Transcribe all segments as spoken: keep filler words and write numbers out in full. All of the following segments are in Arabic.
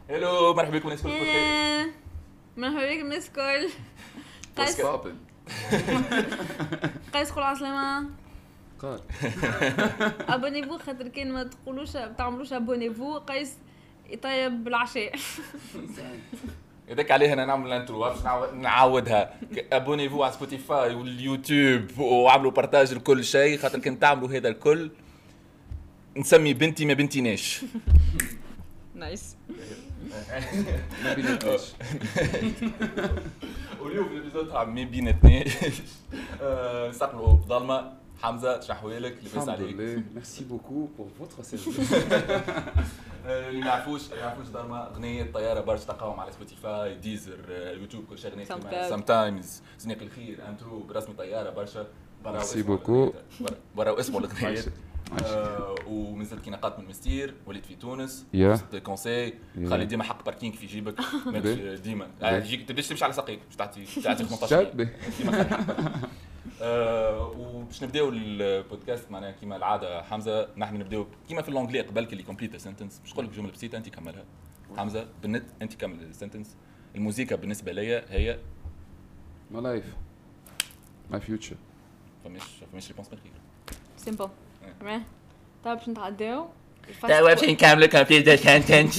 هلو مرحبا بكم الناس كل إيه، مرحبا بكم الناس الكل. قيس قيس قول عسلامة. قال ابونيفو خاطر كان ما تقولوش ما تعملوش ابونيفو قيس يطيب بالعشاء. يدك عليها انا نعمل الانترو باش نعاودها. ابونيفو على سبوتيفاي واليوتيوب وعملوا بارتاج لكل شيء خاطر كنت تعملوا هذا الكل نسمي بنتي ما بنتيناش. نايس. ما بيناتناش. واليوم في الابيزود تاع ما بيناتناش نستقبلوا ظلمه حمزه شحوالك لاباس عليك. الحمد لله ميرسي بوكو بور فوتر سيرفيس. اللي ما يعرفوش ما يعرفوش ظلمه اغنيه طياره برشا تلقاهم على سبوتيفاي ديزر يوتيوب كل شيء اغنيه سام تايمز زنيق الخير انترو برسمي طياره برشا. ميرسي بوكو. برا اسمه الاغنيه. آه ومازلت كي نقات من مستير وليت في تونس yeah. كونساي yeah. خلي ديما حق باركينغ في جيبك ديما تجيك تبداش تمشي على ساقيك باش تعطي تعطي خمسطاش ديما. آه وباش نبداو البودكاست معناها كيما العاده حمزه نحن نبداو كيما في اللونجلي قبل كي كومبليت سنتنس باش نقول لك جمله بسيطه انت كملها. حمزه بالنت انت كمل السنتنس. الموسيقى بالنسبه ليا هي my life my future. فماش فماش ريبونس باخير سيمبل. تمام. طيب باش نتعداو. طيب باش نكملوا كومبليت سنتنس.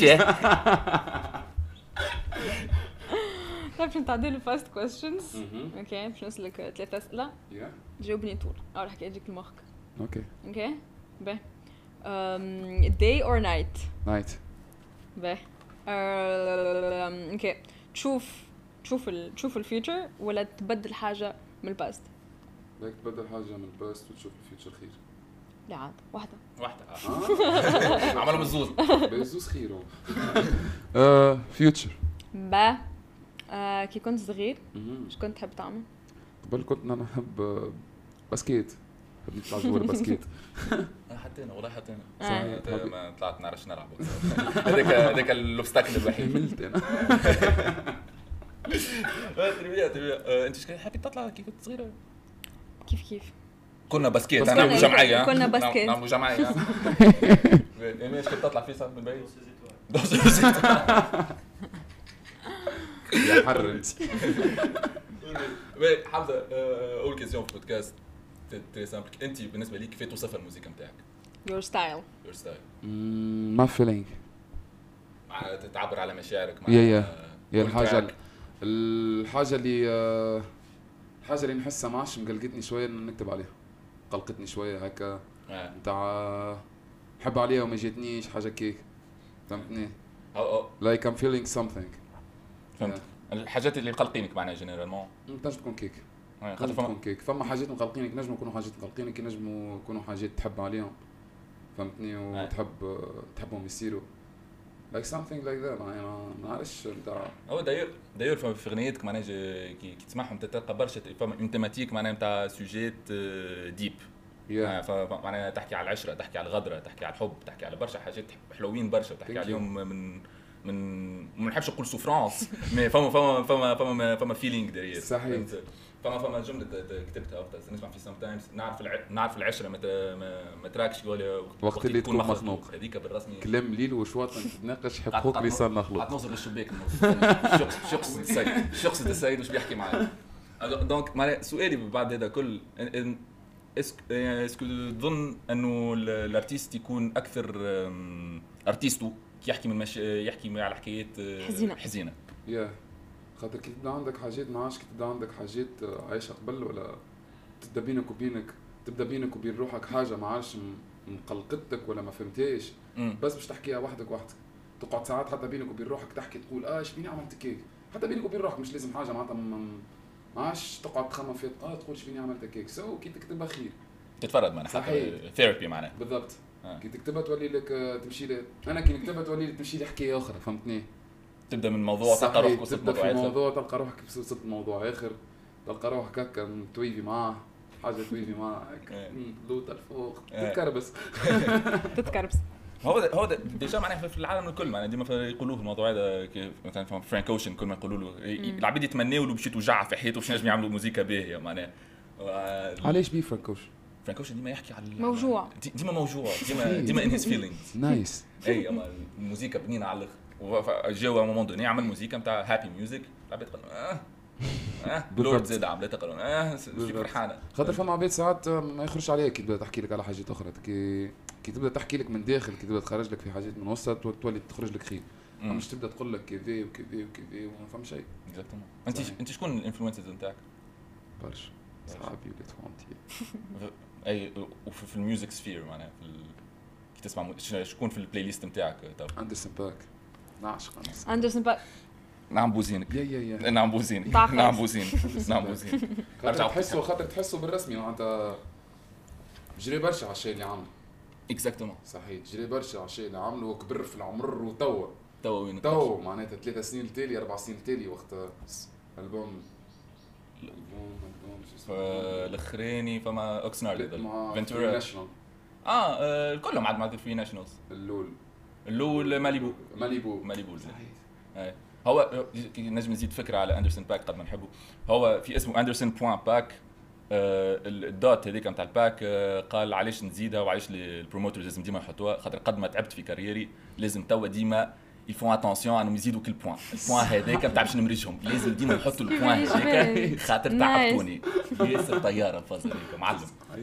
طيب باش نتعداو الفاست كويستشنز. اوكي باش نسألك ثلاثة أسئلة. تجاوبني طول. أول حكاية تجيك المخك. اوكي. اوكي. باهي. um day or night. night. باهي. اوكي تشوف تشوف ال تشوف الفيوتشر ولا تبدل حاجة من الباست؟ بدك تبدل حاجة من الباست وتشوف الفيوتشر خير. لا عاد واحدة واحدة عملوا بالزوز بالزوز خير. اه فيوتشر. با آه كي كنت صغير ايش كنت تحب تعمل؟ قبل كنت انا نحب باسكيت. نحب نطلع جوا الباسكيت. حتى انا والله حتى انا صحيح ما طلعت نعرفش نلعب. هذاك هذاك الاوبستاكل الوحيد. ملت انا. تربيه تربيه انت ايش حبيت تطلع كي كنت صغيره؟ كيف كيف كنا باسكيت انا وجمعيه كنا باسكيت نعملوا جمعيه. ايش كنت تطلع فيه صار من بعيد يا حرنت. وي حمزه اول كيسيون في البودكاست تري سامبل. انت بالنسبه ليك كيف توصف الموسيقى نتاعك؟ يور ستايل. يور ستايل ما فيلينج تعبر على مشاعرك. يا يا يا الحاجه الحاجه اللي الحاجه اللي نحسها معش مقلقتني شويه انه نكتب عليها قلقتني شويه هكا نتاع نحب عليها وما جاتنيش حاجه كيك فهمتني. او like I'm feeling something. فهمت. الحاجات اللي مقلقينك معناها جينيرالمون تنجم تكون كيك. خاطر تكون كيك فما حاجات مقلقينك نجم يكونوا حاجات مقلقينك نجموا يكونوا حاجات تحب عليهم فهمتني وتحب تحبهم يصيروا like something like that. ما نعرفش نتاع هو داير داير في اغنيتك معناها كي تسمعهم تلقى برشا فما اون تيماتيك معناها نتاع سوجيت ديب. فمعناها تحكي على العشره تحكي على الغدره تحكي على الحب تحكي على برشا حاجات حلوين برشا تحكي عليهم من من ما نحبش نقول سوفرانس مي فما فما فما فما فما فيلينغ داير صحيح. فما فما جمله كتبتها وقتها نسمع في سام تايمز نعرف الع... نعرف العشره ما ما تراكش ولا وقت اللي تكون مخنوق. هذيك بالرسمي كلام ليل وشواط تتناقش حقوق لسان مخلوق. غتنوصل للشباك شخص شخص السيد شخص السيد واش بيحكي معايا. دونك معناها سؤالي بعد هذا كل اسكو تظن انه الارتيست يكون اكثر ارتيستو يحكي من مش يحكي على حكايات حزينه حزينه يا خاطر كي تبدا عندك حاجات ما عادش كي تبدا عندك حاجات عايشه قبل ولا تبدا بينك وبينك تبدا بينك وبين روحك حاجه ما عادش مقلقتك ولا ما فهمتيش بس باش تحكيها وحدك وحدك تقعد ساعات حتى بينك وبين روحك تحكي تقول اه ايش بيني عملت كيك حتى بينك وبين روحك مش لازم حاجه معناتها ما عادش تقعد تخمم فيها اه تقول ايش بيني عملت كيك سو كي تكتبها خير تتفرد معناها حتى ثيرابي معناها بالضبط. آه. كي تكتبها تولي لك تمشي لي انا كي نكتبها تولي تمشي لي حكايه اخرى فهمتني. تبدا من موضوع تلقى روحك وصلت موضوع في موضوع تلقى روحك وصلت موضوع اخر تلقى روحك هكا تويفي معاه حاجه تويفي معاه هكا لوطه الفوق تتكربس تتكربس. هو ده هو ده ديجا معناها في العالم الكل معناها ديما يقولوه الموضوع هذا مثلا فرانك اوشن كل ما يقولوا له العباد يتمنوا له باش يتوجع في حياته باش ينجم يعملوا موسيقى باهيه معناها. علاش بيه فرانك اوشن؟ فرانك اوشن ديما يحكي على موجوع ديما موجوع ديما ديما ان هيز فيلينغز نايس. اي اما الموسيقى بنينه على الاخر وجاوا مومون دوني عمل موسيقى نتاع هابي ميوزك العباد قالوا اه اه لورد زاد عملتها قالوا اه فيك فرحانه خاطر فما عباد ساعات ما يخرجش عليك كي تبدا تحكي لك على حاجات اخرى كي كي تبدا تحكي لك من داخل كي تبدا تخرج لك في حاجات من وسط تولي تخرج لك خير مش تبدا تقول لك كذا وكذا وكذا وما فهم شيء. اكزاكتومون. انت انت شكون الانفلونسرز نتاعك؟ برشا صحابي ولاد خالتي اي وفي الميوزك سفير معناها في كي تسمع شكون في البلاي ليست نتاعك؟ اندرسون باك نعشق اندرسون باك نعم بوزينك يا يا يا نعم بوزينك نعم بوزينك نعم بوزينك ارجع تحسوا خاطر تحسوا بالرسمي معناتها جري برشا على الشيء اللي عمله. اكزاكتومون صحيح جري برشا على الشيء اللي عمله وكبر في العمر وتوا توا وين توا معناتها ثلاثة سنين التالي أربع سنين التالي وقت ألبوم ألبوم الاخراني فما اوكسنارلي فنتورا ناشونال اه كلهم عاد مع الفري ناشونالز اللول اللول ماليبو ماليبو ماليبو صحيح. هو نجم نزيد فكره على اندرسون باك قد ما نحبه هو في اسمه اندرسون بوان باك الدوت هذيك نتاع الباك قال علاش نزيدها وعلاش البروموترز لازم ديما يحطوها خاطر قد ما تعبت في كاريري لازم توا ديما يفون اتونسيون انهم يزيدوا كل بوان البوان هذاك بتاع باش نمرجهم لازم ديما يحطوا البوان هذاك خاطر تعبتوني ياسر طياره الفاز هذيك معلم.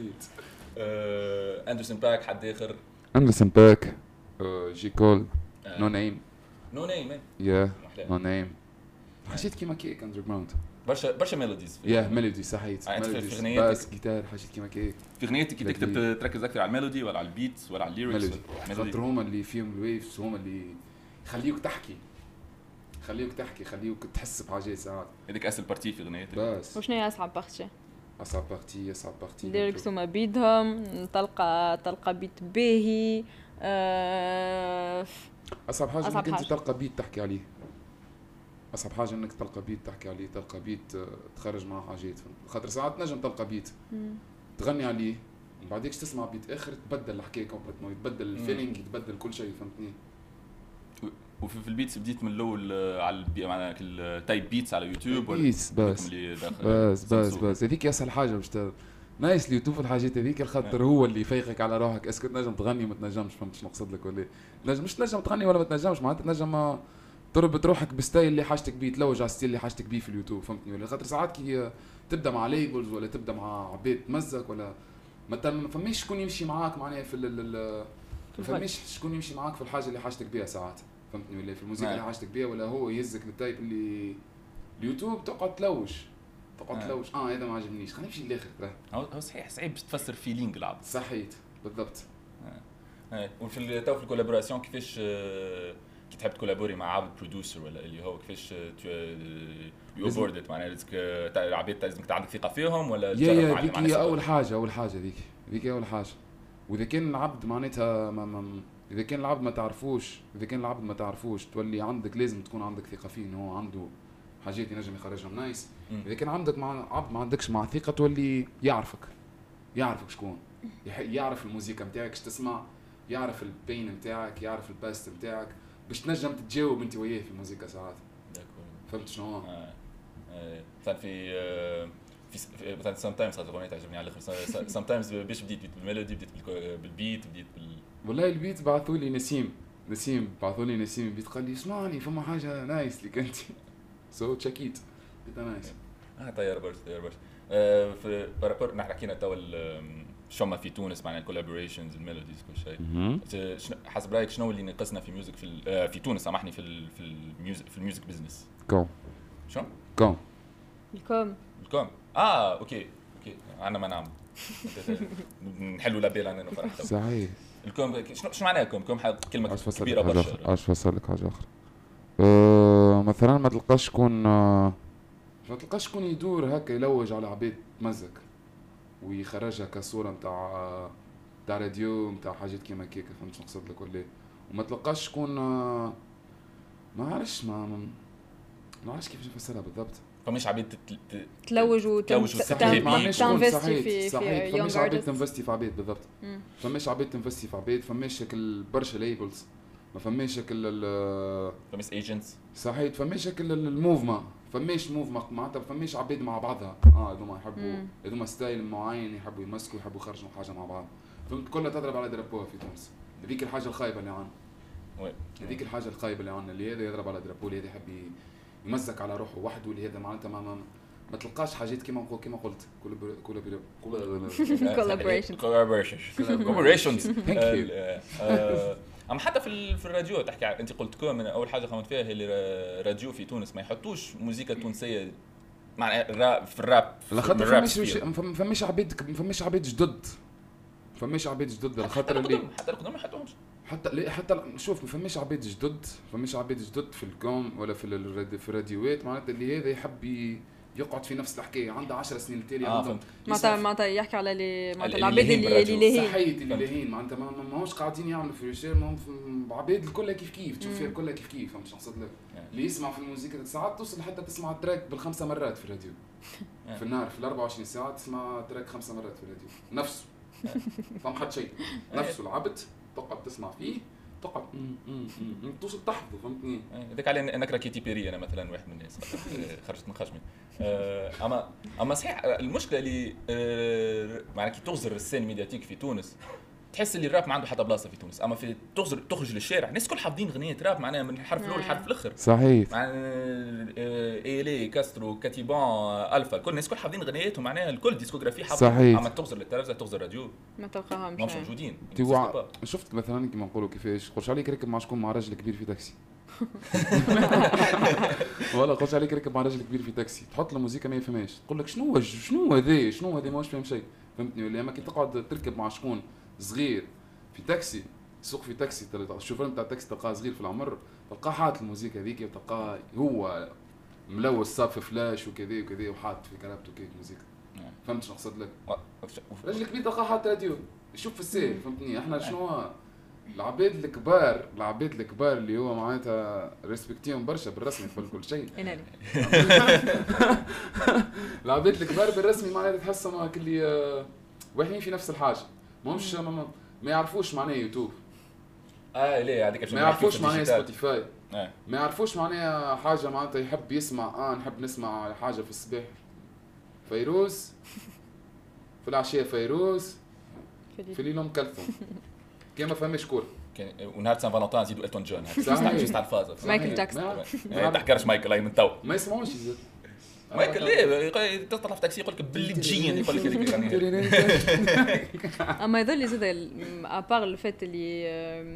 اندرسون باك حد اخر اندرسون باك جي كول نو نيم نو نيم يا نو نيم حسيت كيما كيك اندر جراوند برشا برشا ميلوديز يا ميلودي صحيت ميلوديز باس جيتار حاجات كيما كيك في غنيتك كي تكتب تركز اكثر على الميلودي ولا على البيتس ولا على الليركس خاطر هما اللي فيهم الويفز هما اللي يخليوك تحكي خليوك تحكي خليوك تحس بحاجات ساعات هذيك اسهل بارتي في غنيتك بس وشنو هي اصعب بارتي؟ اصعب بارتي اصعب بارتي الليركس هما بيدهم تلقى تلقى بيت باهي أه... اصعب حاجه انك انت تلقى بيت تحكي عليه اصعب حاجه انك تلقى بيت تحكي عليه تلقى بيت تخرج معه حاجات خاطر ساعات نجم تلقى بيت تغني عليه ومن بعديك تسمع بيت اخر تبدل الحكايه كومبليتمون يتبدل الفيلينغ يتبدل كل شيء فهمتني. وفي في البيتس بديت من الاول على معناها التايب بيتس على يوتيوب ولا بيتس بس بس بس بس هذيك اسهل حاجه باش نايس اليوتيوب الحاجات هذيك الخاطر هو اللي يفيقك على روحك اسكو تنجم تغني وما تنجمش فهمت شنو نقصد لك ولا تنجم مش تنجم تغني ولا ما تنجمش معناتها تنجم تربط روحك بالستايل اللي حاجتك بيه تلوج على الستيل اللي حاجتك بيه في اليوتيوب فهمتني ولا خاطر ساعات كي تبدا مع ليبلز ولا تبدا مع عباد تمزك ولا مثلا ما فماش شكون يمشي معاك معناها في ال ما فماش شكون يمشي معاك في الحاجه اللي حاجتك بيها ساعات فهمتني ولا في الموسيقى اللي حاجتك بيها ولا هو يهزك للتايب اللي اليوتيوب تقعد تلوج تقعد تلوج اه هذا ما عجبنيش خلينا نمشي للاخر ترى هو صحيح صعيب باش تفسر فيلينغ العبد صحيت بالضبط. اه وفي تو في الكولابوراسيون كيفاش كي تحب تكولابوري مع عبد برودوسر ولا اللي هو كيفاش يو بوردت معناها لازمك العباد لازمك عندك ثقه فيهم ولا يا يا هذيك هي اول حاجه اول حاجه ذيك ذيك اول حاجه واذا كان العبد معناتها ما ما اذا كان العبد ما تعرفوش اذا كان العبد ما تعرفوش تولي عندك لازم تكون عندك ثقه فيه انه هو عنده حاجات ينجم يخرجها نايس. اذا كان عندك مع عبد ما عندكش مع ثقه تولي يعرفك يعرفك شكون يعرف الموسيقى نتاعك اش تسمع يعرف البين نتاعك يعرف الباست نتاعك باش تنجم تتجاوب انت وياه في الموسيقى ساعات فهمت شنو هو مثلا في في مثلا سام تايمز خاطر اغنيه تعجبني على الاخر سام تايمز باش بديت بالميلودي بديت بالبيت بديت بال والله البيت بعثوا لي نسيم نسيم بعثوا لي نسيم البيت قال لي اسمعني فما حاجه نايس ليك انت سو تشيكيت بيت نايس اه طيار برش طيار برش في بارابور نحن حكينا تو شوما في تونس معناها الكولابوريشنز الميلوديز كل شيء حسب رايك شنو اللي ناقصنا في ميوزك في في تونس سامحني في في الميوزك في الميوزك بزنس كوم شنو كوم الكوم الكوم اه اوكي اوكي انا ما نعمل نحلوا لابيل انا فرحت صحيح الكوم شنو شنو معناها كوم كوم كلمه كبيره برشا اش فسر لك حاجه اخرى أه مثلا ما تلقاش شكون أه ما تلقاش شكون يدور هكا يلوج على عباد تمزك ويخرجها كصوره نتاع تاع راديو نتاع حاجات كيما كيك فهمت شنو نقصد لك ولا وما تلقاش شكون أه ما عرفش ما ما عرفش كيفاش نفسرها بالضبط فماش عباد تلوج وتنفستي في في فماش عباد تنفستي في عباد بالضبط فماش عباد تنفستي في عباد فماش شكل برشا ليبلز ما فماش شكل فماش ايجنتس صحيح فماش شكل الموفمنت فماش موفمنت معناتها فماش عباد مع بعضها اه هذوما يحبوا هذوما ستايل معين يحبوا يمسكوا يحبوا يخرجوا حاجه مع بعض فهمت كلها تضرب على دربوها في تونس هذيك الحاجه الخايبه اللي عندنا هذيك الحاجه الخايبه اللي عندنا، اللي هذا يضرب على درابو، اللي هذا يحب يمزك على روحه وحده، اللي هذا معناتها ما, ما ما تلقاش حاجات كيما كيما قلت كولابوريشن كولابوريشنز. اما حتى في في الراديو تحكي، انت قلت كو من اول حاجه قامت فيها اللي راديو في تونس ما يحطوش موسيقى تونسيه مع الراب في الراب. على خاطر فماش فماش عبيد فماش عبيد جدد فماش عبيد جدد على خاطر اللي حتى القدام ما يحطوهمش. حتى لا حتى شوف ما فماش عبيد جدد فماش عبيد جدد في الكوم ولا في في الراديوات، معناتها اللي هذا يحب يقعد في نفس الحكايه عنده عشر سنين التالي آه عنده معناتها معناتها يحكي على اللي معناتها العباد اللي اللي لاهين صحيت اللي لاهين معناتها ماهوش قاعدين يعملوا في ريشير، عباد الكل كيف كيف تشوف فيها الكل كيف كيف. فهمت شنو نقصد لك؟ اللي يسمع في الموسيقى ساعات توصل حتى تسمع التراك بالخمسه مرات في الراديو في النهار، في الأربعة وعشرين ساعه تسمع تراك خمسه مرات في الراديو نفسه. فهم حد شيء نفسه العبد تقعد تسمع فيه تقعد توصل تحفظه. فهمتني؟ هذاك على انك راكي تيبيري. انا مثلا واحد من الناس خرجت من خشمي. اما اما صحيح المشكله اللي معناها كي تغزر السين ميدياتيك في تونس تحس اللي الراب ما عنده حتى بلاصه في تونس. اما في تغزر تخرج للشارع الناس كل حافظين اغنيه راب معناها من الحرف الاول للحرف الاخر. صحيح. ايلي كاسترو كاتيبان الفا كل الناس كل حافظين اغنياتهم معناها الكل ديسكوغرافي حافظ. اما تغزر للتلفزه تغزر راديو ما تلقاهمش مش موجودين. شفت مثلا كيما نقولوا كيفاش قرش عليك ركب مع شكون مع راجل كبير في تاكسي ولا قرش عليك ركب مع راجل كبير في تاكسي تحط له موسيقى ما يفهمهاش تقول لك شنو شنو هذا شنو هذا ماش فاهم شيء. فهمتني؟ ولا اما كي تقعد تركب مع شكون صغير في تاكسي سوق في تاكسي الشوفير نتاع التاكسي تلقاه صغير في العمر تلقاه حاط الموسيقى هذيك وتلقاه هو ملوث صاب في فلاش وكذا وكذا وحاط في كرابته كيك موسيقى. فهمت شنو نقصد لك؟ راجل كبير تلقاه حاط راديو يشوف في السير. فهمتني؟ احنا شنو العباد الكبار العباد الكبار اللي هو معناتها ريسبكتيهم برشا بالرسمي في كل شيء. العباد الكبار بالرسمي معناتها تحسهم كلي واحدين في نفس الحاجه ماهمش ما, ما يعرفوش معناه يوتيوب. اه ليه هذيك ما يعرفوش معناه سبوتيفاي. آه. ما يعرفوش معناها حاجه معناتها يحب يسمع اه نحب نسمع حاجه في الصباح فيروز في العشيه فيروز في الليل ام كلثوم كي ما فهمش كور ونهار سان فالنتين نزيدوا التون جون هذا جوست على الفاز مايكل جاكسون ما تحكرش مايكل هاي من تو ما يسمعوش زاد مايكل ليه تطلع في تاكسي يقول لك باللي تجين يقول لك هذيك. اما يظل لي زاد ابار الفات اللي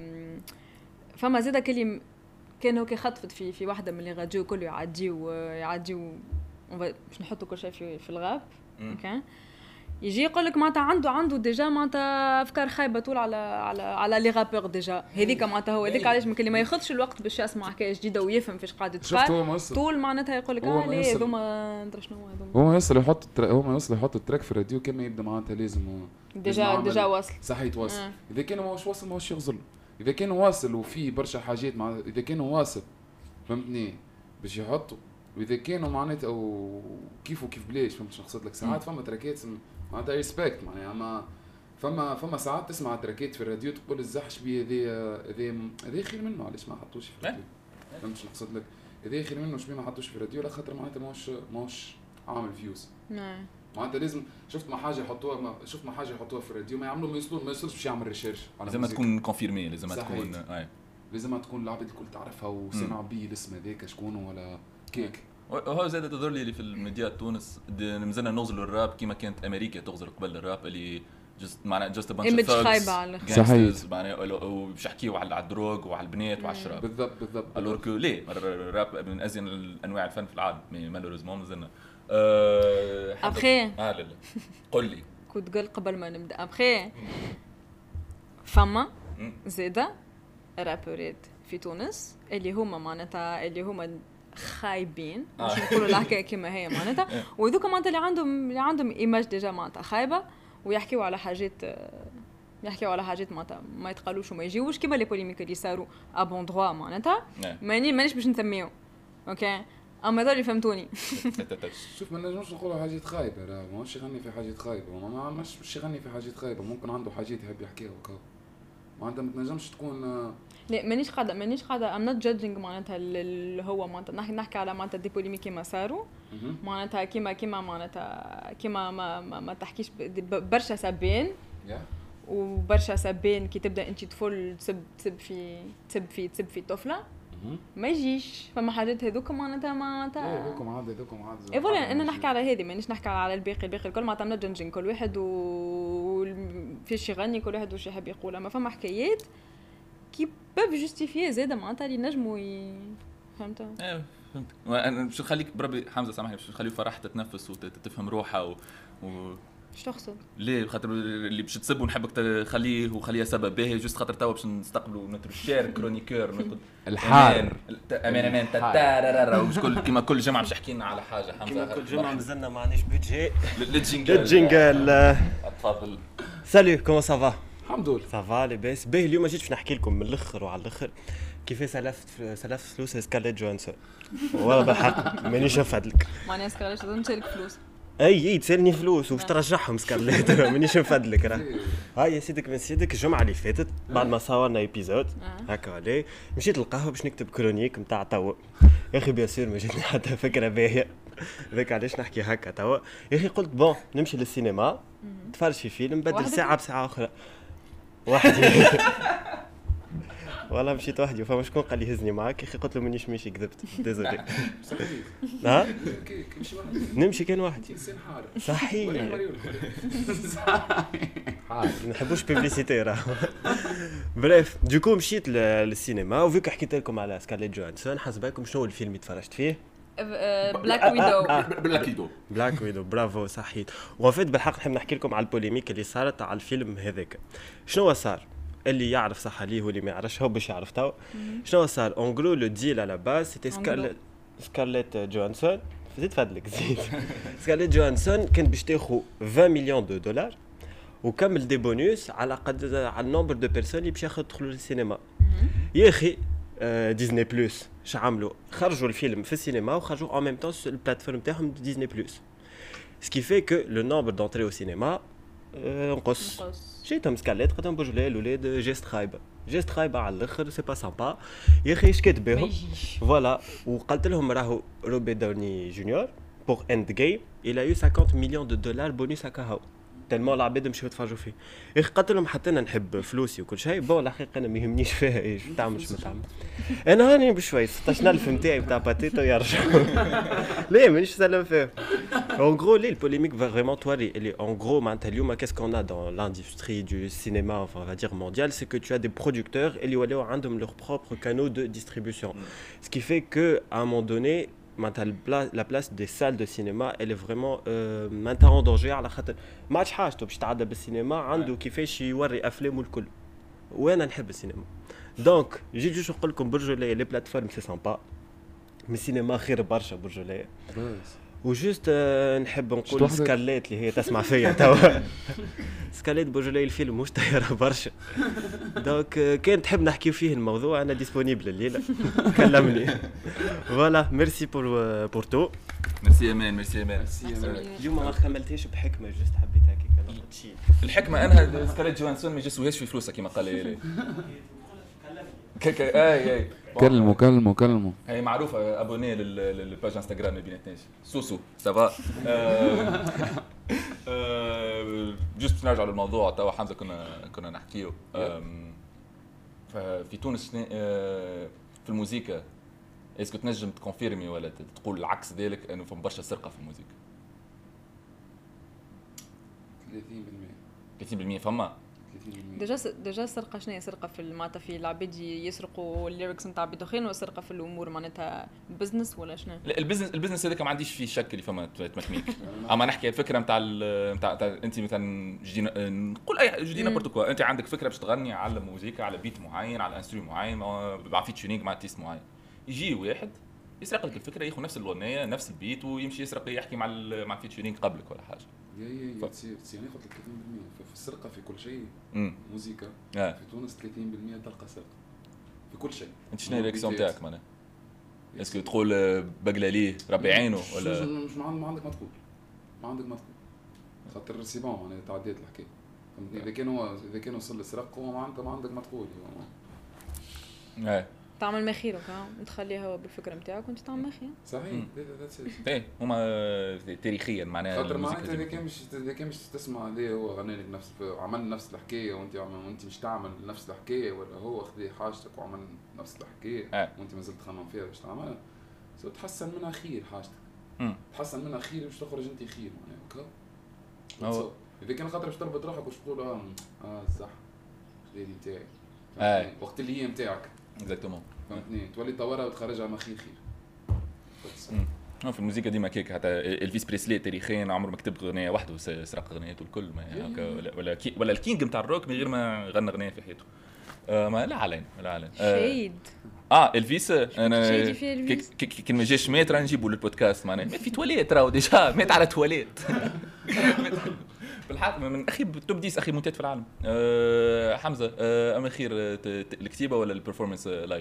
فما زاد كلي كانوا كي خطفت في في واحده من اللي راديو كله يعديو يعديو باش نحطوا كل شيء في في الغاب اوكي يجي يقول لك معناتها عنده عنده ديجا معناتها افكار خايبه طول على على على لي رابور ديجا هذيك معناتها هو هذيك علاش ممكن ما ياخذش الوقت باش يسمع حكايه جديده ويفهم فاش قاعد تقال طول معناتها يقول لك اه ليه هذوما ندري شنو هذوما هو يوصل يحط هو ما يوصل يحط التراك في الراديو كما يبدا معناتها لازم ديجا ديجا واصل صحيح واصل. آه. اذا كان ماهوش واصل ماهوش يغزل اذا كان واصل وفي برشا حاجات مع اذا كان واصل فهمتني باش يحطوا واذا كانوا معناتها او كيف وكيف بلاش. فهمت شنو نقصد لك؟ ساعات فما تراكات معناتها ريسبكت معناها اما فما فما ساعات تسمع تراكات في الراديو تقول الزحش بيه هذا هذا هذا خير منه علاش ما حطوش في الراديو. فهمت شنو نقصد لك؟ هذا خير منه شبيه ما حطوش في الراديو على خاطر معناتها ماهوش ماهوش عامل فيوز. نعم معناتها لازم شفت ما حاجه يحطوها ما شفت ما حاجه يحطوها في الراديو ما يعملوا ما يوصلوا ما يوصلش باش يعمل ريشيرش لازم تكون كونفيرمي لازم تكون اي لازم تكون العباد الكل تعرفها وسمع بيه الاسم هذاك شكون ولا كيك. وهو زاد تظهر لي في الميديا تونس مازلنا نغزلوا الراب كيما كانت امريكا تغزل قبل الراب اللي جست معناها جست بانش ايمج خايبه على صحيح معناها وباش يحكيوا على الدروغ وعلى البنات وعلى الشراب. بالضبط بالضبط. الور كو ليه الراب من ازين انواع الفن في العالم مالوريزمون مازلنا أه ابخي اه لا لا قول لي كنت قل قبل ما نبدا ابخي فما زاده رابورات في تونس اللي هما معناتها اللي هما خايبين مش نقولوا الحكايه كما هي معناتها وذوك معناتها اللي عندهم اللي عندهم ايماج ديجا معناتها خايبه ويحكيوا على حاجات يحكيوا على حاجات معناتها ما يتقالوش وما يجيوش كيما لي بوليميك اللي صاروا ابون دروا معناتها ماني مانيش باش نسميهم اوكي اما هذول فهمتوني. شوف ما نجمش نقولوا حاجات خايبه راه ماهوش يغني في حاجات خايبه ما مش باش يغني في حاجات خايبه ممكن عنده حاجات يحب يحكيها وكا معناتها ما تنجمش تكون لا مانيش قاعده مانيش قاعده ام نوت جادجينغ معناتها اللي هو معناتها نحكي نحكي على معناتها دي بوليميك كيما صاروا معناتها كيما كيما معناتها كيما ما ما, ما تحكيش برشا سابين وبرشا سبان كي تبدا انت طفل تسب تسب في تسب في تسب في طفله ما يجيش. فما حاجات هذوك معناتها معناتها ايه هذوكم عاد هذوكم عاد اي فوالا انا نحكي على هذه مانيش نحكي على الباقي. الباقي الكل معناتها نجنجن كل واحد وفيش يغني كل واحد واش يحب يقول. اما فما حكايات كي باب جوستيفيي زاده معناتها اللي نجموا ي... فهمت ايه فهمت. وانا باش نخليك بربي حمزه سامحني باش نخليه فرح تتنفس وتفهم روحها و, و... ايش تقصد؟ ليه خاطر اللي باش تسب ونحبك تخليه وخليها سبب باهي جوست خاطر توا باش نستقبلوا نتر الشير كرونيكور نقول الحار امان امان تتارارا وكل كيما كل جمعه باش حكينا على حاجه حمزه كيما كل جمعه مازلنا ما عندناش بيدجي للجينجل الجينجل. تفضل. سالو كومون سافا؟ الحمد لله سافا لاباس باهي. اليوم جيت باش نحكي لكم من الاخر وعلى الاخر كيفاش سلفت سلفت فلوس سكارليت جوهانسون. والله بالحق مانيش نفدلك معناها سكارليت لازم تشارك فلوس. اي اي تسالني فلوس وباش ترجعهم سكارليت مانيش نفدلك راه. هاي يا سيدك من سيدك الجمعه اللي فاتت بعد ما صورنا ايبيزود هكا عليه مشيت للقهوه باش نكتب كرونيك نتاع توا. يا اخي بيان سور ما جاتني حتى فكره باهيه ذاك علاش نحكي هكا توا. يا اخي قلت بون نمشي للسينما نتفرج في فيلم بدل ساعه بساعه اخرى وحدي. والله مشيت وحدي وفما شكون قال لي هزني معاك. يا اخي قلت له مانيش ماشي كذبت ديزولي. ها نمشي كان وحدي صحيح ما نحبوش بيبليسيتي راه. بريف دوكو مشيت للسينما وفيك حكيت لكم على سكارليت جوهانسون. حسباكم شنو الفيلم اللي تفرجت فيه؟ بلاك ويدو. بلاك ويدو بلاك ويدو برافو صحيت. وفيت بالحق نحب نحكي لكم على البوليميك اللي صارت على الفيلم هذاك. شنو صار؟ اللي يعرف صح عليه واللي ما يعرفش هو باش يعرف تو شنو صار. اون غرو لو ديل على باز سيتي سكارليت سكارليت جوهانسون. زيد فادلك زيد. سكارليت جوهانسون كانت باش تاخذ عشرين مليون دو دولار وكمل دي بونوس على قد على النمبر دو بيرسون اللي باش يدخلوا للسينما. يا اخي ديزني بلس اش عملوا؟ خرجوا الفيلم في السينما وخرجوا en même temps sur البلاتفورم تاعهم ديزني بلس. ce qui fait que le nombre d'entrées au cinéma نقص. جيتهم سكارليت قدام بوجلي الولاد جيست خايبه جيست خايبه على الاخر سي با سامبا. يا اخي اش كاتب بهم فوالا. وقلت لهم راهو روبي داوني جونيور بور اند جيم الى يو خمسين مليون دو دولار بونيس هكا هاو تلمو العباد مشاو يتفرجوا فيه. يا اخي قلت لهم حتى انا نحب فلوسي وكل شيء بون الحقيقه انا ما يهمنيش فيها ايش تعمل ما تعمل. انا هاني بشوي ستاشر ألف نتاعي نتاع باتيتو يرجع. ليه مانيش سلم فيه. En gros, les polémiques va vraiment toiler. Et en gros, maintenant, qu'est-ce qu'on a dans l'industrie du cinéma, enfin, on va dire mondial, c'est que tu as des producteurs et ils ont leurs propres canaux de distribution. Mm. Ce qui fait que à un moment donné, la place des salles de cinéma, elle est vraiment euh, maintenant en danger. على خاطر ما عادش حاجته باش تعدى بالسينما عنده كيفاش يوري افلامه الكل. وانا نحب السينما. دونك جيت جوش نقول لكم برجوليه لي بلاتفورم سي سامبا مي السينما خير برشا برجوليه. وجوست نحب نقول سكارليت اللي هي تسمع فيا توا. سكارليت بوجولي الفيلم مش طايره برشا. دونك كان تحب نحكي فيه الموضوع انا ديسپونيبل الليله كلمني. فوالا ميرسي بور بور تو. ميرسي امان ميرسي امان. اليوم ما خملتيش بحكمه جوست حبيت هكاك نقول شيء. الحكمه انها سكارليت جوهانسون ما يجسوهاش في فلوسها كما قال لي. كاكا اي اي كلموا كلموا كلموا. هي معروفه ابوني للباج انستغرام ما بيناتناش سوسو سافا. جست نرجع للموضوع توا حمزه كنا كنا نحكيو في تونس في الموسيقى. اسكو تنجم تكونفيرمي ولا تقول العكس ذلك انه فما برشا سرقه في الموسيقى؟ ثلاثين بالمئة ثلاثين بالمئة فما ديجا ديجا سرقه شنو هي سرقه في معناتها في العباد يسرقوا الليركس نتاع عباد اخرين ولا سرقه في الامور معناتها بزنس ولا شنو؟ لا البزنس البزنس هذاك ما عنديش فيه شك اللي فما تمكميك. اما نحكي الفكره نتاع نتاع انت مثلا جدينا نقول اي جدينا بورتوكوا انت عندك فكره باش تغني على موسيقى على بيت معين على انسترو معين مع فيتشرينج مع تيست معين. يجي واحد يسرق لك الفكره ياخذ نفس الاغنيه نفس البيت ويمشي يسرق يحكي مع مع الفيتشرينج قبلك ولا حاجه. يا يا تصير تصير قلت لك ثلاثين بالمئة في السرقه في كل شيء. موسيقى آه. في تونس ثلاثين بالمئة تلقى سرقه في كل شيء. انت شنو الرياكسيون تاعك معناها؟ اسكو تقول بقلاليه ربي عينه ولا مش ما عندك ما تقول ما عندك ما تقول خاطر سي بون معناها تعديت الحكايه. اذا كان هو اذا كان وصل للسرقه هو ما عندك ما عندك ما تقول. ايه تعمل ما خيرك تخليه هو بالفكره نتاعك وانت تعمل ما خير صحيح. ايه هما تاريخيا معناها خاطر معناتها اذا كان مش اذا كان مش تسمع عليه هو غنى لك نفس عمل نفس الحكايه وانت وانت مش تعمل نفس الحكايه ولا هو خذ حاجتك وعمل نفس الحكايه آه. وانت ما زلت تخمم فيها باش تعملها سو تحسن منها خير حاجتك مم. تحسن منها خير باش تخرج انت خير معناها هكا اذا كان خاطر باش تربط روحك باش تقول اه اه صح خذيلي نتاعي آه. وقت اللي هي نتاعك اكزاكتومون فهمتني تولي تطورها وتخرجها ما خير خير في الموسيقى ديما كيك حتى الفيس بريسلي تاريخيا عمره ما كتب اغنيه وحده وسرق اغنياته الكل ما هكا ولا ولا, كي ولا الكينج نتاع الروك من غير ما غنى اغنيه في حياته آه ما لا علينا لا علينا شهيد اه الفيس انا شهيدي فيه الفيس كي ما جاش مات راه نجيبوا للبودكاست معناها مات في تواليت راهو ديجا مات على تواليت بالحق من اخي توب ديس اخي موتات في العالم أه حمزه أه اما خير الكتيبه ولا البرفورمانس لايف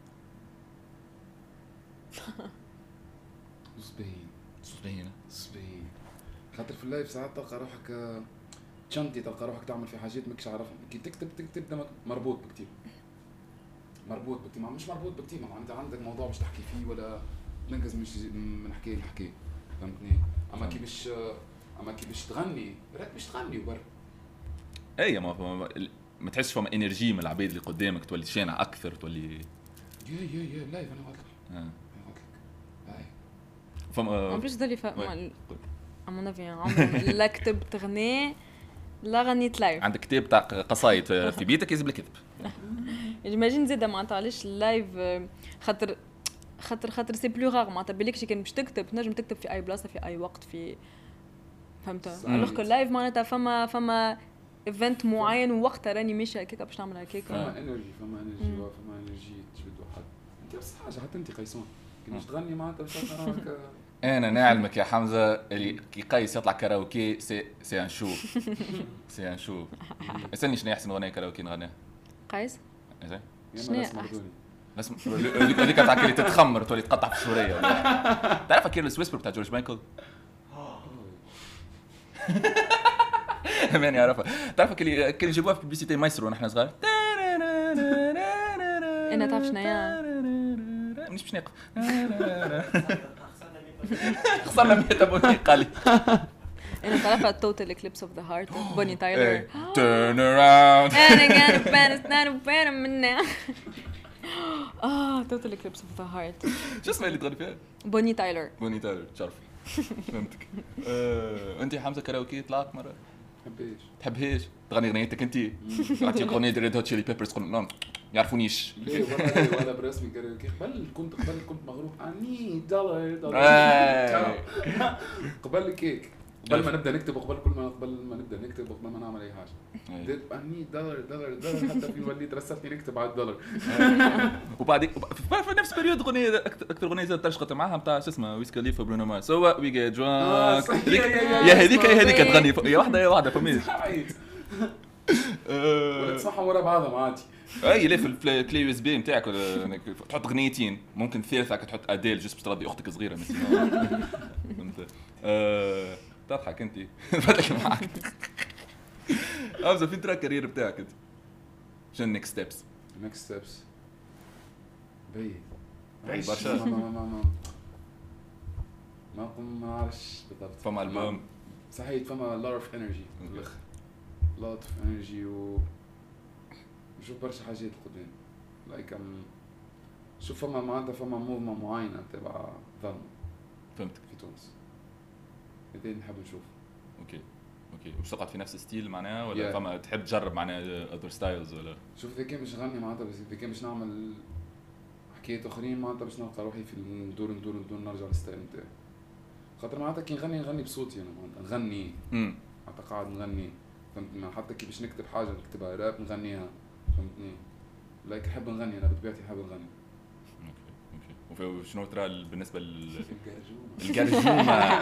صبين صبين صبين خاطر في اللايف ساعات تلقى روحك تشنتي تلقى روحك تعمل في حاجات ماكش عارفهم كي تكتب تكتب دمك مربوط بكتيب مربوط بكتيب مش مربوط بكتيب ما انت عندك موضوع باش تحكي فيه ولا ننقز مش من حكايه لحكايه فهمتني اما كي باش اما كي باش تغني راك باش تغني وبر اي ما ما, ما تحسش فما انرجي من العباد اللي قدامك تولي شانع اكثر تولي يا يا يا لايف انا واضح اه هاي فما ان بليس دالي فما امون افي عمري لا كتبت غني لا غنيت لايف عندك كتاب تاع قصايد في بيتك يجب لك كتب ايماجين زيد معناتها علاش اللايف خاطر خاطر خاطر سي بلو غار معناتها بالك كان باش تكتب تنجم تكتب في اي بلاصه في اي وقت في فهمت الوغ كو اللايف معناتها فما فما ايفنت معين ووقتها راني ماشيه هكاك باش نعمل هكاك فما انرجي فما انرجي فما انرجي تجبد واحد انت بس حاجه حتى انت قيسون كي باش تغني معناتها باش تراك انا نعلمك يا حمزه اللي كي قيس يطلع كاراوكي سي سي ان شو سي ان شو اسالني شنو احسن اغنيه كاراوكي نغنيها قيس زين شنو احسن اسم هذيك تاع كي تتخمر تولي تقطع في السوريه تعرف كيرلس ويسبر بتاع جورج مايكل ماني عارفها تعرف كي كان يجيبوها في بيبليسيتي مايسترو ونحن صغار انا تعرف شنو هي مش باش نقف خسرنا مية ابوني قالي انا تعرف توتال اكليبس اوف ذا هارت بوني تايلر تيرن اراوند انا قاعد بانس نار بان منا اه توتال اكليبس اوف ذا هارت شو اسمها اللي تغني فيها بوني تايلر بوني تايلر تعرف فهمتك انت حمزه كاراوكي طلعت مره تحبيش تحبهاش تغني اغنيتك انت تعطيك اغنيه ريد هوت تشيلي بيبرز تقول لا يعرفونيش ليه والله ولا برسمي كاراوكي قبل كنت قبل كنت مغروب اني دولار دولار قبل كيك قبل ما نبدا نكتب وقبل كل ما قبل ما نبدا نكتب وقبل ما نعمل اي حاجه بديت اني دولار دولار دولار حتى في وليت رسلتني نكتب على الدولار وبعدين في نفس بريود اغنيه اكثر اغنيه زاد ترشقت معاها نتاع شو اسمه ويز خليفه برونو مارس هو وي جيت درانك يا هذيك يا هذيك تغني يا واحده يا واحده فهمت ولا تسمعهم ورا بعضهم عادي اي ليه في الكلي يو اس بي نتاعك تحط اغنيتين ممكن ثالثه تحط اديل جست باش ترضي اختك صغيره مثلا فهمت تضحك انت فتك معك ابزا فين ترى الكارير بتاعك انت شنو النكست ستيبس النكست ستيبس بي برشا ما ما ما ما ما نعرفش بالضبط فما البوم صحيح فما lot of energy بالاخر lot of energy و شوف برشا حاجات قدام لايك ام شوف فما معناتها فما موفمه معينه تبع ظن فهمتك في تونس هذا نحب نشوف اوكي اوكي وش تقعد في نفس الستيل معناها ولا yeah. فما تحب تجرب معناها اذر ستايلز ولا شوف اذا كان باش نغني معناتها بس اذا كان باش نعمل حكايات اخرين معناتها باش نلقى روحي في ندور ندور ندور نرجع للستايل نتاعي خاطر معناتها كي نغني نغني بصوتي انا معناتها نغني معناتها قاعد نغني فهمتني حتى كي باش نكتب حاجه نكتبها راب نغنيها فهمتني لايك نحب نغني انا بطبيعتي نحب نغني اوكي اوكي وشنو ترى بالنسبه لل الجرجومه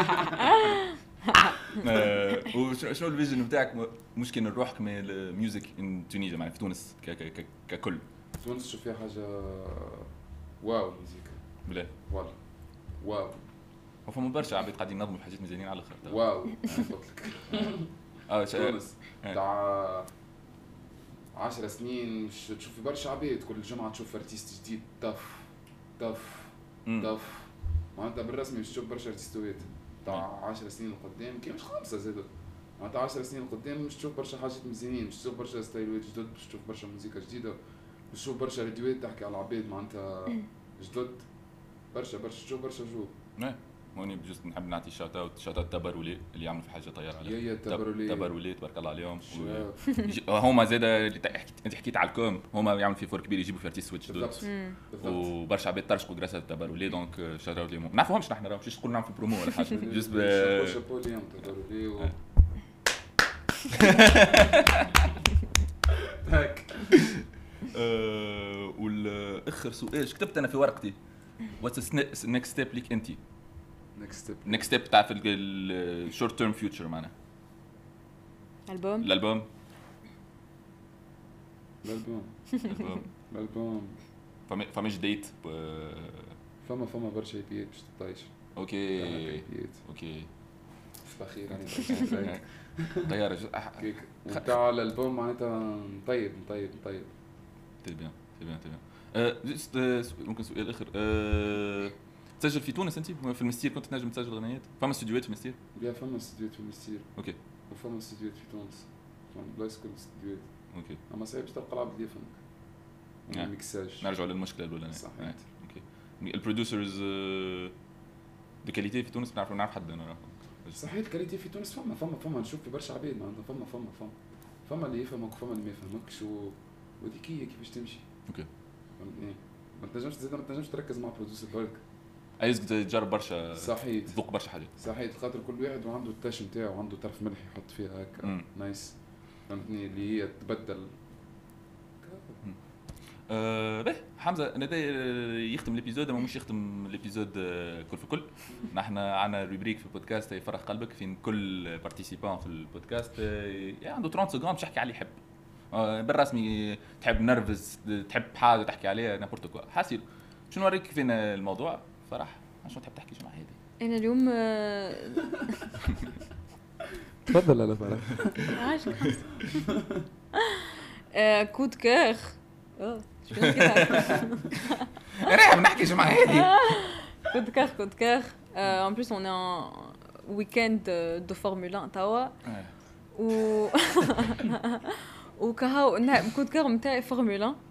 وشنو الفيجن نتاعك مشكل نروحك من الميوزك ان تونيزيا يعني في تونس ككل تونس شوف فيها حاجه واو الموسيقى بلا والله واو وفما برشا عباد قاعدين ينظموا حاجات مزيانين على الاخر واو قلت لك اه تونس تاع عشر سنين مش تشوف برشا عباد كل جمعه تشوف ارتيست جديد طف طف طف معناتها بالرسمي مش تشوف برشا ارتيستوات تاع عشر سنين لقدام كي مش خمسه زاد معناتها عشر سنين لقدام مش تشوف برشا حاجات مزيانين مش تشوف برشا ستايلات جدد مش تشوف برشا موسيقى جديده مش تشوف برشا راديوات تحكي على العباد معناتها جدد برشا برشا تشوف برشا جو هوني بجوز نحب نعطي شوت اوت شوت اوت تبرولي اللي يعملوا في حاجه طياره يا يا تبرولي تبرولي تبارك الله عليهم هما زاد انت حكيت على الكوم هما يعملوا في فور كبير يجيبوا في ارتيست سويتش دوت وبرشا عباد ترشقوا جراسه التبرولي دونك شوت اوت ليهم ما نعرفوهمش نحن راهم مش نقول نعمل في برومو ولا حاجه جوست شابو ليهم تبرولي هاك والاخر سؤال ايش كتبت انا في ورقتي واتس نيكست ستيب ليك انت نيكست ستيب نيكست ستيب تاع في الشورت تيرم فيوتشر معنا البوم الالبوم الالبوم الالبوم فما فماش ديت فما فما برشا ايبيات باش تطيش اوكي اوكي اخيرا يعني طياره وتاع الالبوم معناتها طيب طيب طيب تي بيان تي بيان تي بيان ممكن سؤال اخر أه... تسجل في تونس انت في المستير كنت تنجم تسجل غنيات فما استديوهات في المستير بيا فما استديوهات في المستير اوكي وفما استديوهات في تونس فما بلايص كل استديوهات اوكي اما صعيب تلقى العبد اللي يفهمك نعم. ميكساج نرجعوا للمشكله الاولى صحيح اوكي البروديوسرز دو كاليتي في تونس بنعرف نعرف حد انا صحيح الكاليتي في تونس فما فما فما نشوف في برشا عباد معناتها فما فما فما فما اللي يفهمك وفما اللي ما يفهمكش و... وديك هي كيفاش تمشي اوكي فهمتني ما تنجمش زاد ما تنجمش تركز مع بروديوسر برك عايزك تجرب برشا صحيح تذوق برشا حاجات صحيح خاطر كل واحد وعنده التاش نتاعو وعنده طرف ملح يحط فيها هكا نايس فهمتني اللي هي تبدل أه به حمزه انا يختم الابيزود اما مش يختم الابيزود كل في كل نحن عندنا روبريك في البودكاست يفرح قلبك فين كل بارتيسيبان في البودكاست عنده ثلاثين سكوند باش يحكي عليه يحب أه بالرسمي تحب نرفز تحب حاجه تحكي عليها نابورت كوا حاسيل شنو نوريك فين الموضوع فرح شنو تحب تحكي شنو هذه انا اليوم تفضل على فرح عاشق كود كير اه شنو كده انا بنحكي شنو هذه كود كير كود كير en plus on est en week-end de Formule un توا و وكهو كود كير نتاعي فورمولا واحد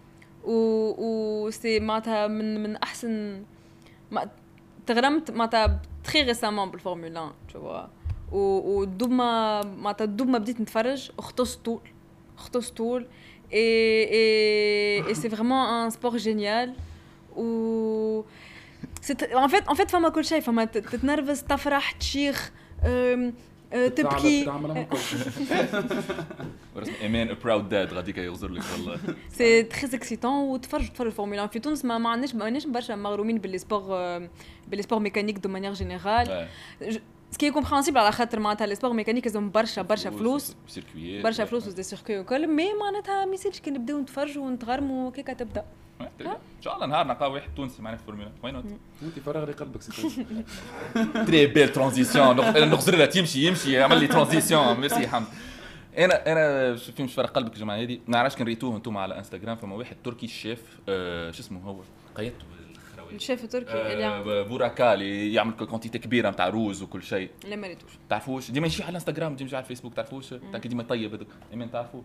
و سي معناتها من من احسن ما تغرمت معناتها تري ريسامون بالفورمولا واحد tu vois و دوب ما معناتها دوب ما بديت نتفرج اختص طول اختص طول et et et c'est vraiment un sport génial ou c'est en fait en fait فما كل شيء فما تتنرفز تفرح تشيخ تبكي ورسم ايمان براود داد غاديك يغزر لك والله سي تري اكسيتون وتفرج تفرج الفورمولا في تونس ما عندناش ما عندناش برشا مغرومين باللي سبور باللي سبور ميكانيك دو مانيير جينيرال سكي كومبرينسيبل على خاطر معناتها لي سبور ميكانيك لازم برشا برشا فلوس برشا فلوس ودي سيركوي وكل مي معناتها ما يصيرش كي نبداو نتفرجوا ونتغرموا وكيك تبدا ان شاء الله نهار نلقى واحد تونسي معنا في الفورمولا وين انت فرغ لي قلبك سي تري بيل ترانزيسيون نغزر لها تمشي يمشي عمل لي ترانزيسيون ميرسي حمد انا انا شوفي مش فرغ قلبك يا جماعه هذه ما نعرفش كان ريتوه انتم على انستغرام فما واحد تركي الشيف شو اسمه هو قيدته الشيف التركي اللي بوراكا اللي يعمل كونتيتي كبيره نتاع روز وكل شيء لا ما ريتوش تعرفوش ديما يمشي على الانستغرام ديما على الفيسبوك تعرفوش تاع ديما طيب هذوك ايمان تعرفوه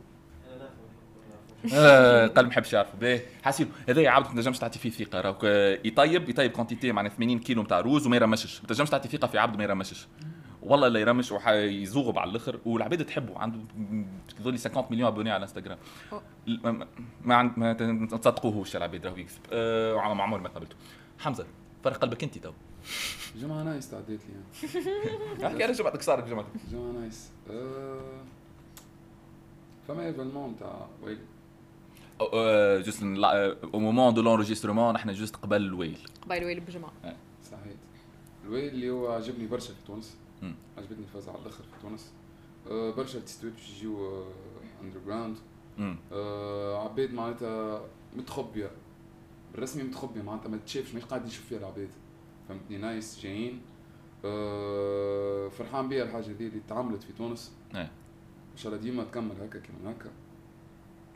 آه قال ما حبش يعرفوا باهي حاسين هذا يعاود ما تنجمش تعطي فيه ثقه راك يطيب يطيب كونتيتي معناها ثمانين كيلو نتاع روز وما يرمشش ما تنجمش تعطي ثقه في عبد ما يرمشش والله لا يرمش ويزوغب على الاخر والعباد تحبه عنده ذولي خمسين مليون ابوني على الانستغرام ما ما تصدقوهوش العباد راهو يكسب آه على معمر ما قابلته حمزه فرق قلبك انت تو جماعه نايس تعديت لي احكي على جماعتك صار جماعتك جماعه نايس أه... فما ايفينمون تاع ويل جوست او مومون دو لونجسترمون نحن جوست قبل الويل قبل الويل بجماعه صحيح الويل اللي هو عجبني برشا في تونس عجبتني الفازة على الاخر في تونس أه برشا ارتيستات باش يجيو اندر جراوند أه عباد معناتها متخبيه بالرسمي متخبيه معناتها ما تشافش مش قاعد يشوف فيها العباد فهمتني نايس جايين أه فرحان بيها الحاجه دي اللي تعملت في تونس ان شاء الله ديما تكمل هكا كيما هكا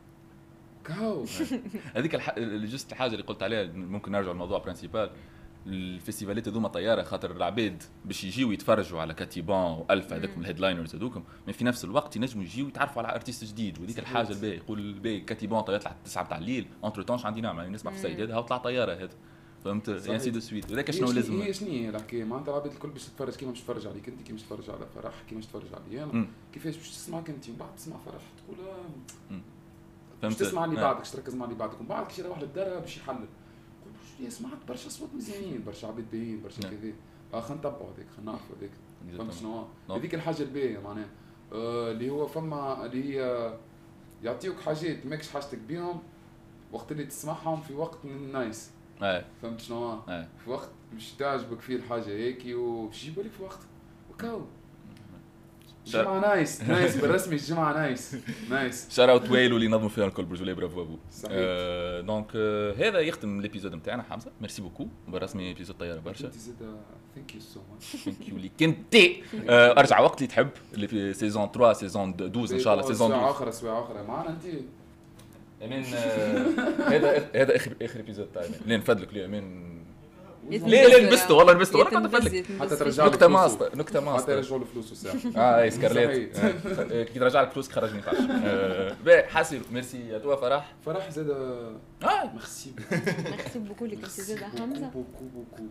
كاو هذيك الح... جست الحاجه اللي قلت عليها ممكن نرجع للموضوع برينسيبال. الفيستيفالات هذوما طياره خاطر العباد باش يجيو يتفرجوا على كاتيبان والفا هذوك من الهيدلاينرز هذوكم، من في نفس الوقت ينجموا يجيو يتعرفوا على ارتيست جديد. وهذيك الحاجه الباهيه يقول الباهي كاتيبان يطلع تسعة تاع الليل انتر تونش عندي نعمل نسمع في السيد هذا وطلع طياره هذا فهمت يعني سي دو سويت. وذاك شنو لازم هي شنو هي الحكايه معناتها العباد الكل باش تتفرج كيما باش تتفرج عليك انت، كيما باش تتفرج على فرح، كيما باش تتفرج علي انا، كيفاش باش تسمعك انت ومن بعد تسمع فرح تقول فهمت تسمع اللي بعدك تركز مع اللي بعدك ومن بعد كي يروح للدار باش يحلل يقول يا سمعت برشا اصوات مزيانين برشا عباد باهيين برشا كذا اه خلينا نتبعوا هذيك خلينا نعرفوا هذيك فهمت شنو هذيك الحاجه الباهيه معناها آه اللي هو فما اللي هي يعطيوك حاجات ماكش حاجتك بيهم وقت اللي تسمعهم في وقت نايس ايه فهمت شنو ايه في وقت مش تعجبك فيه الحاجه هيك وباش يجيبوا لك في وقت وكاو جمعة نايس نايس بالرسمي الجمعة نايس نايس شار اوت ويلو اللي نظموا فيها الكل برجولي برافو ابو صحيح آه دونك آه هذا يختم الابيزود نتاعنا حمزه ميرسي بوكو بالرسمي ابيزود طياره برشا انت زاد ثانك يو سو ماتش ثانك يو ليك انت آه ارجع وقت اللي تحب اللي في سيزون ثلاثة سيزون اثناشر ان شاء الله سيزون سواء اخر سواء اخر معنا انت امين هذا هذا اخر اخر ابيزود تاعي لين نفدلك ليه امين يتنبذ ليه ليه لبسته والله لبسته والله يتنبذ- كنت يتنبذ حتى في ترجع نكته ماستر نكته حتى ماستر يرجعوا له فلوس الساعه اه اي سكارليت آه، كي ترجع لك فلوس خرجني فاش باهي حاسب ميرسي يا توا فرح فرح زاد اه ميرسي ميرسي بوكو لك انت زاد حمزه بوكو بوكو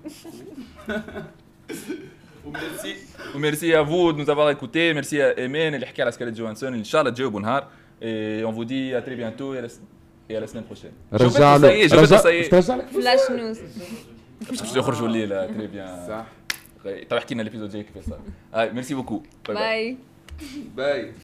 وميرسي وميرسي à vous de nous avoir écoutés. Merci à Emen اللي حكى على سكارليت جوهانسون اللي ان شاء الله تجاوبوا نهار. Et on vous dit à très bientôt et à la, et à la semaine prochaine. رجع له رجع لك فلاش نوز مش باش يخرجوا الليله تري بيان صح تو احكي لنا الابيزود الجاي كيفاش صار. هاي ميرسي بوكو باي باي